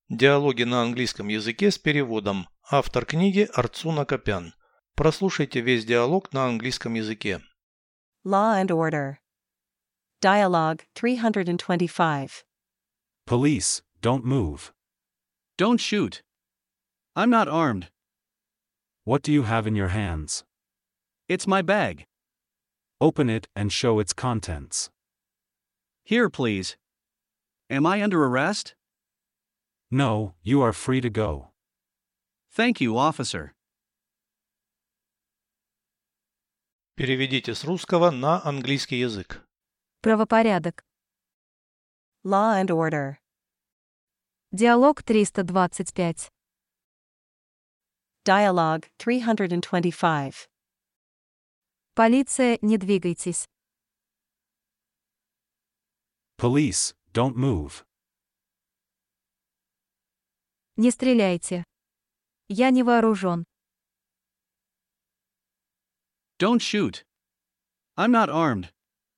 Диалоги на английском языке с переводом. Автор книги Арцуна Копян. Прослушайте весь диалог на английском языке. Law and Order. Dialogue 325. Police, don't move. Don't shoot. I'm not armed. What do you have in your hands? It's my bag. Open it and show its contents. Here, please. Am I under arrest? No, you are free to go. Thank you, officer. Переведите с русского на английский язык. Правопорядок. Law and Order. Диалог 325. Dialogue 325. Полиция, не двигайтесь. Police, don't move. Не стреляйте. Я не вооружен. Don't shoot. I'm not armed.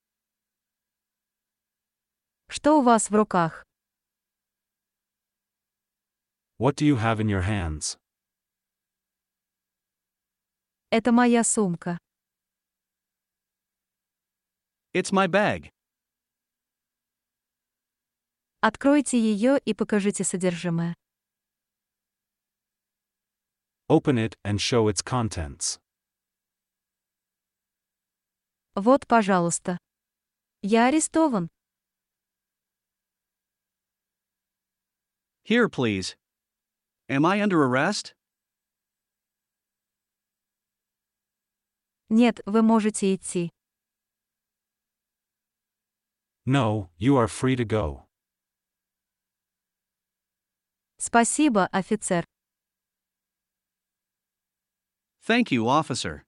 Что у вас в руках? What do you have in your hands? Это моя сумка. It's my bag. Откройте ее и покажите содержимое. Open it and show its contents. Вот, пожалуйста. Я арестован. Here, please. Am I under arrest? Нет, вы можете идти. No, you are free to go. Спасибо, офицер. Thank you, officer.